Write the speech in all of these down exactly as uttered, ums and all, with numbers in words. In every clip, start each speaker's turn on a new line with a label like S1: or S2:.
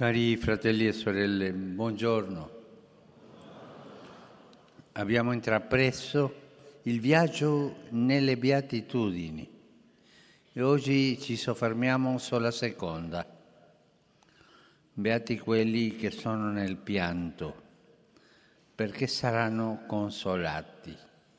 S1: Cari fratelli e sorelle, buongiorno. Abbiamo intrapreso il viaggio nelle beatitudini e oggi ci soffermiamo sulla seconda. Beati quelli che sono nel pianto, perché saranno consolati.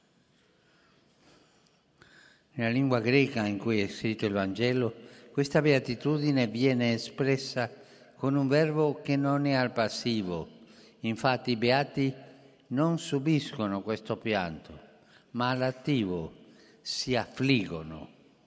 S1: Nella lingua greca in cui è scritto il Vangelo, questa beatitudine viene espressa con un verbo che non è al passivo. Infatti i beati non subiscono questo pianto, ma all'attivo si affliggono,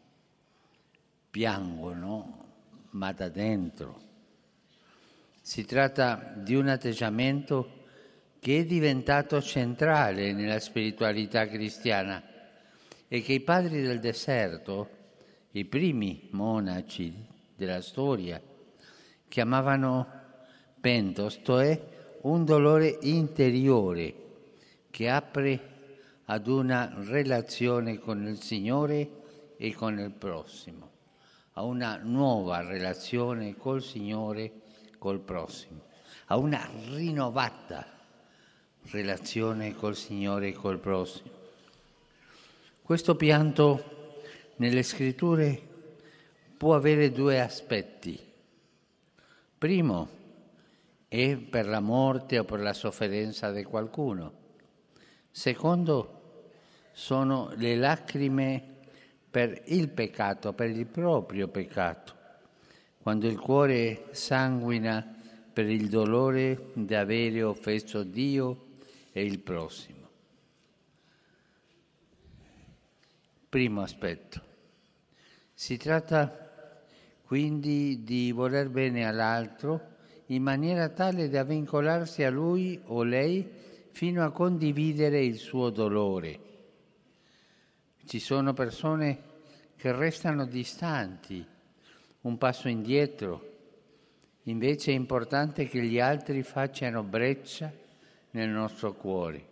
S1: piangono, ma da dentro. Si tratta di un atteggiamento che è diventato centrale nella spiritualità cristiana e che i padri del deserto, i primi monaci della storia, chiamavano pentos, cioè un dolore interiore che apre ad una relazione con il Signore e con il prossimo, a una nuova relazione col Signore e col prossimo, a una rinnovata relazione col Signore e col prossimo. Questo pianto nelle Scritture può avere due aspetti. Primo è per la morte o per la sofferenza di qualcuno. Secondo sono le lacrime per il peccato, per il proprio peccato, quando il cuore sanguina per il dolore di avere offeso Dio e il prossimo. Primo aspetto. Si tratta quindi di voler bene all'altro in maniera tale da vincolarsi a lui o lei fino a condividere il suo dolore. Ci sono persone che restano distanti, un passo indietro. Invece è importante che gli altri facciano breccia nel nostro cuore.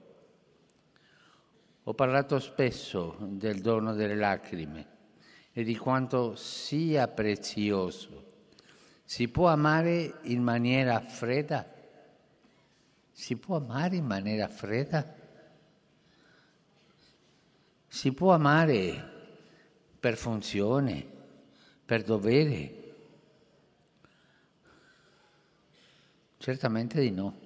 S1: Ho parlato spesso del dono delle lacrime e di quanto sia prezioso. Si può amare in maniera fredda? Si può amare in maniera fredda? Si può amare per funzione, per dovere? Certamente di no.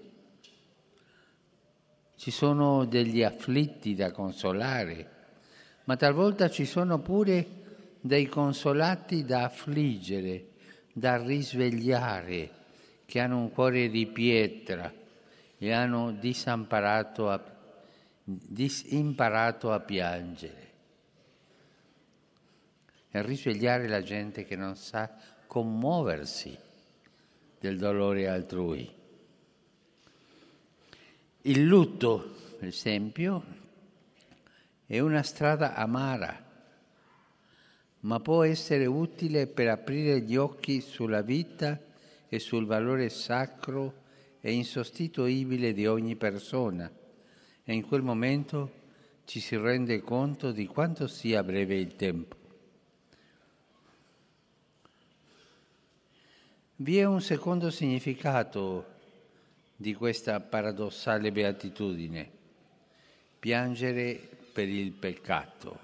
S1: Ci sono degli afflitti da consolare, ma talvolta ci sono pure dei consolati da affliggere, da risvegliare, che hanno un cuore di pietra e hanno disimparato a, disimparato a piangere. E risvegliare la gente che non sa commuoversi del dolore altrui. Il lutto, per esempio, è una strada amara, ma può essere utile per aprire gli occhi sulla vita e sul valore sacro e insostituibile di ogni persona, e in quel momento ci si rende conto di quanto sia breve il tempo. Vi è un secondo significato di questa paradossale beatitudine: piangere per il peccato.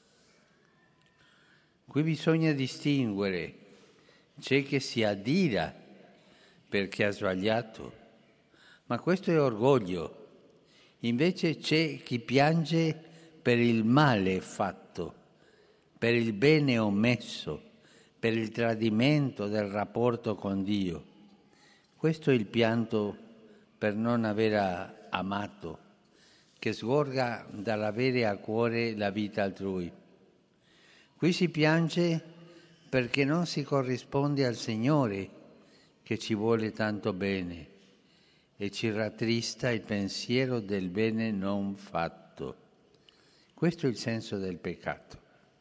S1: Qui bisogna distinguere: c'è chi si adira perché ha sbagliato, ma questo è orgoglio. Invece c'è chi piange per il male fatto, per il bene omesso, per il tradimento del rapporto con Dio. Questo è il pianto per non aver amato, che sgorga dall'avere a cuore la vita altrui. Qui si piange perché non si corrisponde al Signore che ci vuole tanto bene e ci rattrista il pensiero del bene non fatto. Questo è il senso del peccato.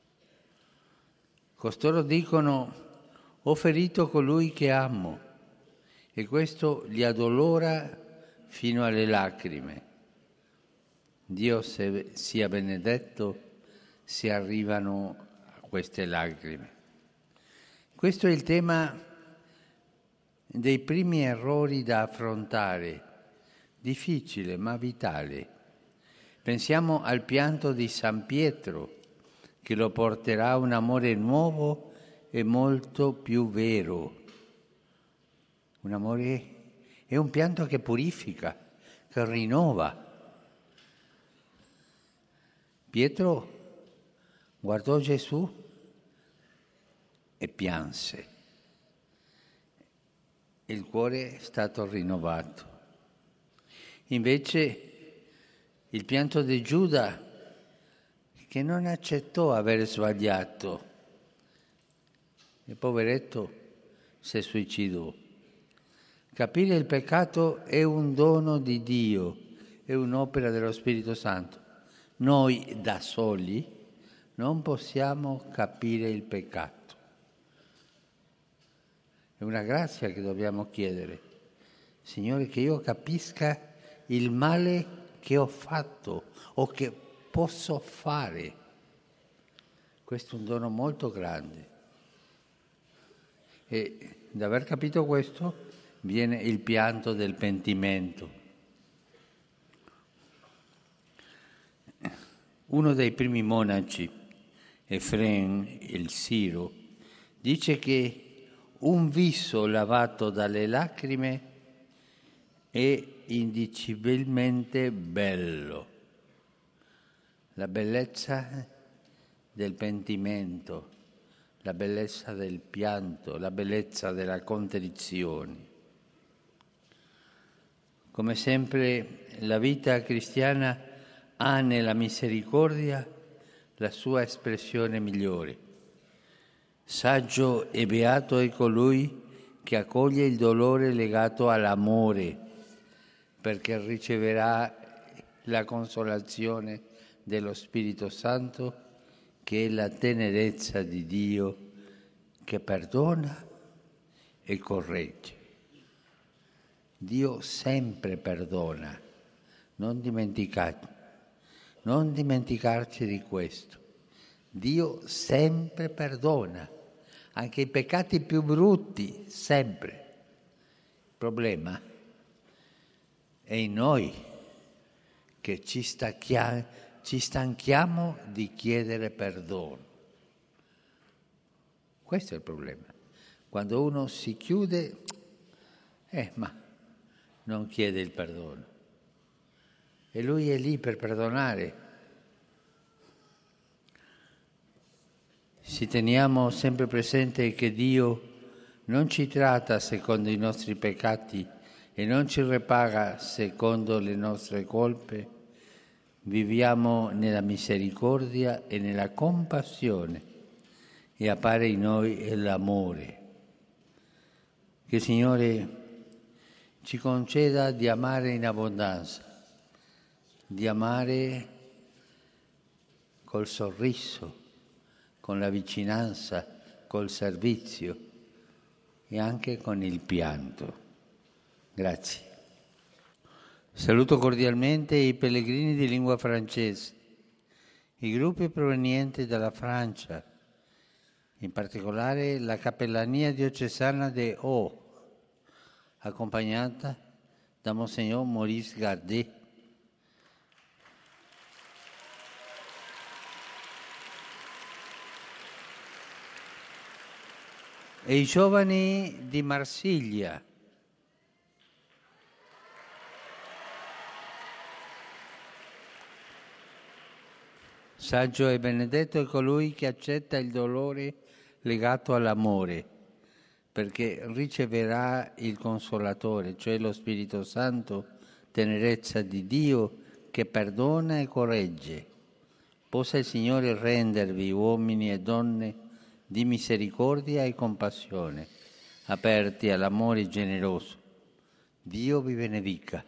S1: Costoro dicono: ho ferito colui che amo, e questo li addolora fino alle lacrime. Dio sia benedetto se arrivano queste lacrime. Questo è il tema dei primi errori da affrontare, difficile ma vitale. Pensiamo al pianto di San Pietro, che lo porterà a un amore nuovo e molto più vero. Un amore è un pianto che purifica, che rinnova. Pietro guardò Gesù e pianse. Il cuore è stato rinnovato. Invece il pianto di Giuda, che non accettò aver sbagliato, il poveretto si suicidò. Capire il peccato è un dono di Dio, è un'opera dello Spirito Santo. Noi da soli non possiamo capire il peccato. È una grazia che dobbiamo chiedere. Signore, che io capisca il male che ho fatto o che posso fare. Questo è un dono molto grande. E da aver capito questo viene il pianto del pentimento. Uno dei primi monaci, Efrem il Siro, dice che un viso lavato dalle lacrime è indicibilmente bello. La bellezza del pentimento, la bellezza del pianto, la bellezza della contrizione. Come sempre la vita cristiana ha nella misericordia la sua espressione migliore. Saggio e beato è colui che accoglie il dolore legato all'amore, perché riceverà la consolazione dello Spirito Santo, che è la tenerezza di Dio che perdona e corregge. Dio sempre perdona, non dimenticate, non dimenticarci di questo. Dio sempre perdona, anche i peccati più brutti, sempre. Il problema è in noi che ci, stacchia, ci stanchiamo di chiedere perdono. Questo è il problema. Quando uno si chiude, eh, ma non chiede il perdono. E Lui è lì per perdonare. Se teniamo sempre presente che Dio non ci tratta secondo i nostri peccati e non ci ripaga secondo le nostre colpe, viviamo nella misericordia e nella compassione e appare in noi l'amore. Che il Signore ci conceda di amare in abbondanza, di amare col sorriso, con la vicinanza, col servizio e anche con il pianto. Grazie. Saluto cordialmente i pellegrini di lingua francese, i gruppi provenienti dalla Francia, in particolare la Cappellania diocesana de Haut, accompagnata da Monsignor Maurice Gardet. E i giovani di Marsiglia. Saggio e benedetto è colui che accetta il dolore legato all'amore, perché riceverà il Consolatore, cioè lo Spirito Santo, tenerezza di Dio che perdona e corregge. Possa il Signore rendervi uomini e donne di misericordia e compassione, aperti all'amore generoso. Dio vi benedica.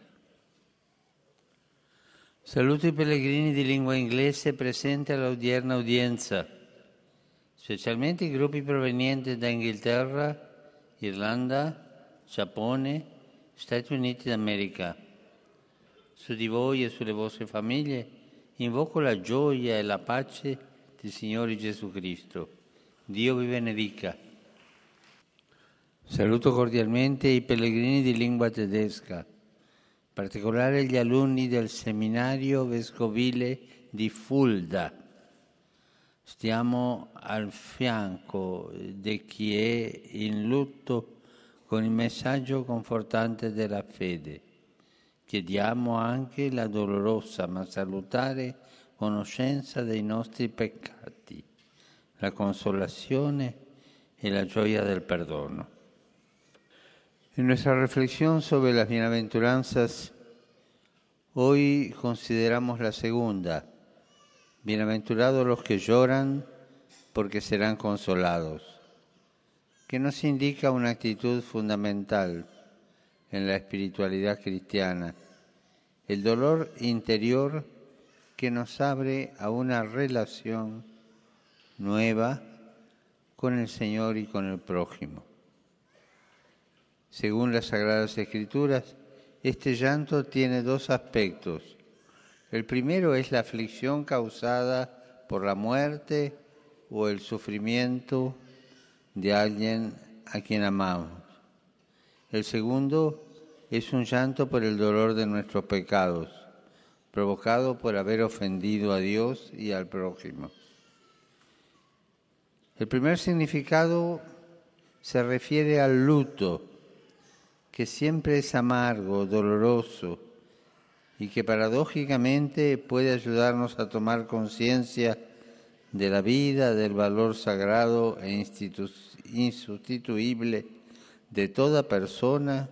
S1: Saluto i pellegrini di lingua inglese presenti all'odierna udienza, specialmente i gruppi provenienti da Inghilterra, Irlanda, Giappone, Stati Uniti d'America. Su di voi e sulle vostre famiglie invoco la gioia e la pace del Signore Gesù Cristo. Dio vi benedica. Saluto cordialmente i pellegrini di lingua tedesca, in particolare gli alunni del seminario vescovile di Fulda. Stiamo al fianco di chi è in lutto con il messaggio confortante della fede. Chiediamo anche la dolorosa ma salutare conoscenza dei nostri peccati, la consolación y la gioia del perdono. En nuestra reflexión sobre las bienaventuranzas, hoy consideramos la segunda. Bienaventurados los que lloran, porque serán consolados, que nos indica una actitud fundamental en la espiritualidad cristiana, el dolor interior que nos abre a una relación nueva con el Señor y con el prójimo. Según las Sagradas Escrituras, este llanto tiene dos aspectos. El primero es la aflicción causada por la muerte o el sufrimiento de alguien a quien amamos. El segundo es un llanto por el dolor de nuestros pecados, provocado por haber ofendido a Dios y al prójimo. El primer significado se refiere al luto, que siempre es amargo, doloroso, y que paradójicamente puede ayudarnos a tomar conciencia de la vida, del valor sagrado e institu- insustituible de toda persona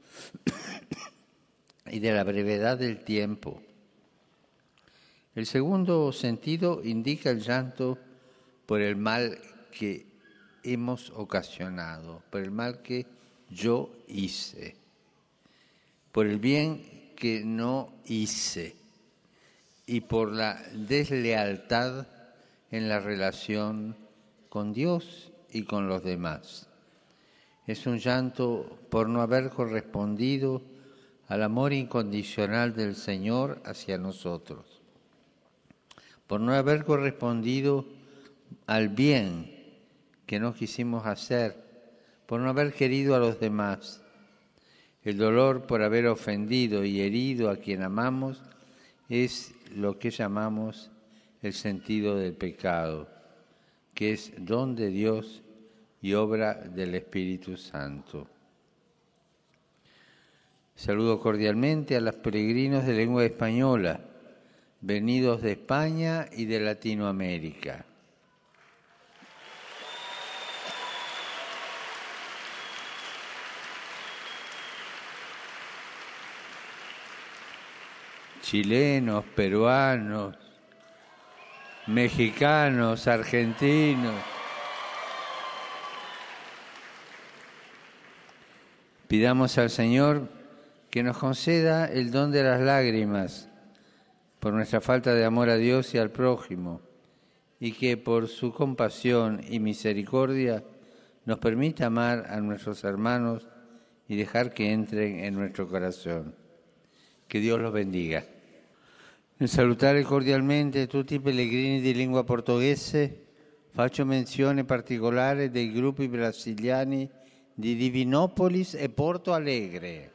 S1: y de la brevedad del tiempo. El segundo sentido indica el llanto por el mal que hemos ocasionado, por el mal que yo hice, por el bien que no hice y por la deslealtad en la relación con Dios y con los demás. Es un llanto por no haber correspondido al amor incondicional del Señor hacia nosotros, por no haber correspondido al bien que no quisimos hacer, por no haber querido a los demás. El dolor por haber ofendido y herido a quien amamos es lo que llamamos el sentido del pecado, que es don de Dios y obra del Espíritu Santo. Saludo cordialmente a los peregrinos de lengua española, venidos de España y de Latinoamérica. Chilenos, peruanos, mexicanos, argentinos. Pidamos al Señor que nos conceda el don de las lágrimas por nuestra falta de amor a Dios y al prójimo, y que por su compasión y misericordia nos permita amar a nuestros hermanos y dejar que entren en nuestro corazón. Que Dios los bendiga. Nel salutare cordialmente tutti i pellegrini di lingua portoghese, faccio menzione particolare dei gruppi brasiliani di Divinopolis e Porto Alegre.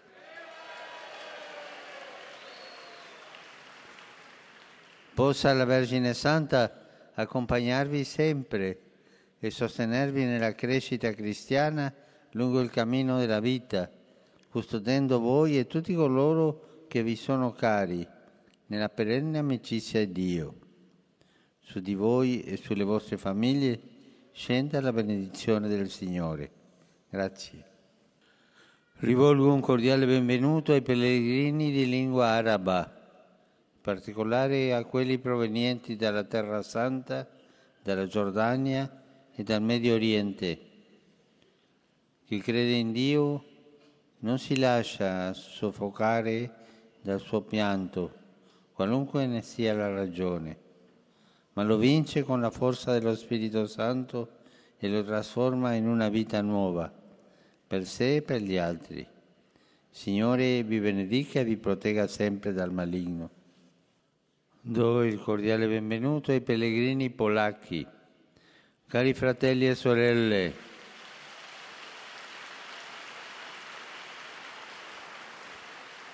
S1: Possa la Vergine Santa accompagnarvi sempre e sostenervi nella crescita cristiana lungo il cammino della vita, custodendo voi e tutti coloro che vi sono cari, nella perenne amicizia di Dio. Su di voi e sulle vostre famiglie scenda la benedizione del Signore. Grazie. Rivolgo un cordiale benvenuto ai pellegrini di lingua araba, in particolare a quelli provenienti dalla Terra Santa, dalla Giordania e dal Medio Oriente. Chi crede in Dio non si lascia soffocare dal suo pianto, qualunque ne sia la ragione, ma lo vince con la forza dello Spirito Santo e lo trasforma in una vita nuova, per sé e per gli altri. Signore vi benedica e vi protegga sempre dal maligno. Do il cordiale benvenuto ai pellegrini polacchi. Cari fratelli e sorelle,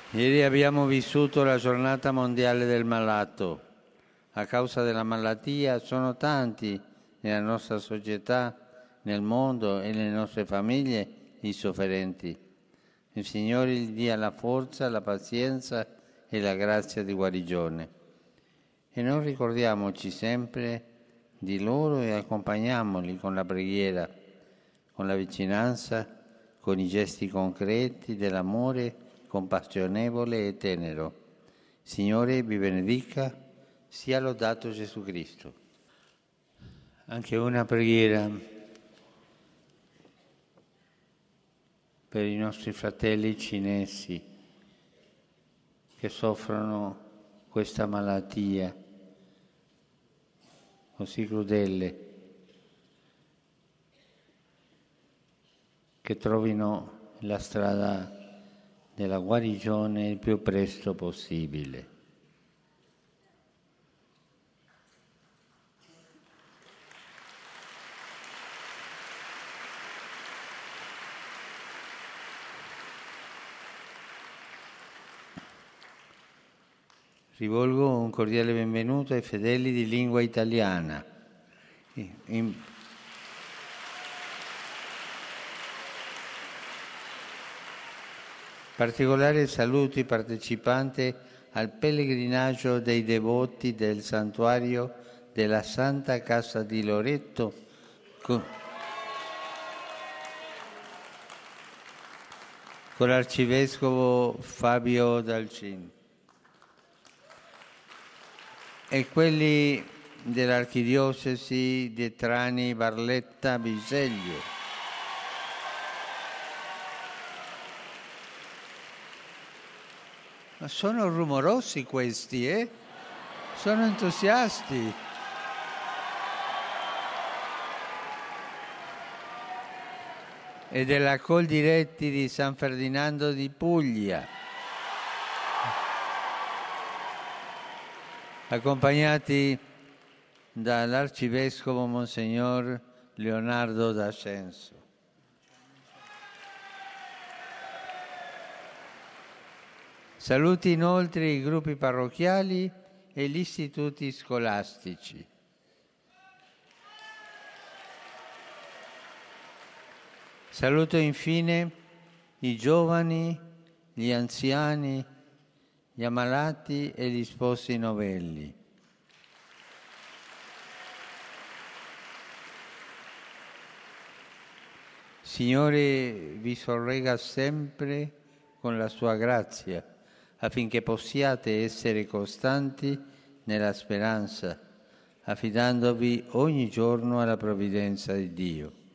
S1: Ieri abbiamo vissuto la giornata mondiale del malato. A causa della malattia sono tanti nella nostra società, nel mondo e nelle nostre famiglie i sofferenti. Il Signore gli dia la forza, la pazienza e la grazia di guarigione. E noi ricordiamoci sempre di loro e accompagniamoli con la preghiera, con la vicinanza, con i gesti concreti dell'amore compassionevole e tenero. Signore vi benedica, sia lodato Gesù Cristo. Anche una preghiera per i nostri fratelli cinesi che soffrono questa malattia così crudele, che trovino la strada della guarigione il più presto possibile. Rivolgo un cordiale benvenuto ai fedeli di lingua italiana. In particolare saluto i partecipanti al pellegrinaggio dei devoti del santuario della Santa Casa di Loreto con, con l'arcivescovo Fabio Dalcin e quelli dell'archidiocesi di Trani Barletta Bisceglie. Ma sono rumorosi questi, eh? Sono entusiasti. E della Coldiretti di San Ferdinando di Puglia, accompagnati dall'arcivescovo Monsignor Leonardo d'Ascenso. Saluti inoltre i gruppi parrocchiali e gli istituti scolastici. Saluto infine i giovani, gli anziani, gli ammalati e gli sposi novelli. Signore vi sorregga sempre con la sua grazia, affinché possiate essere costanti nella speranza, affidandovi ogni giorno alla provvidenza di Dio.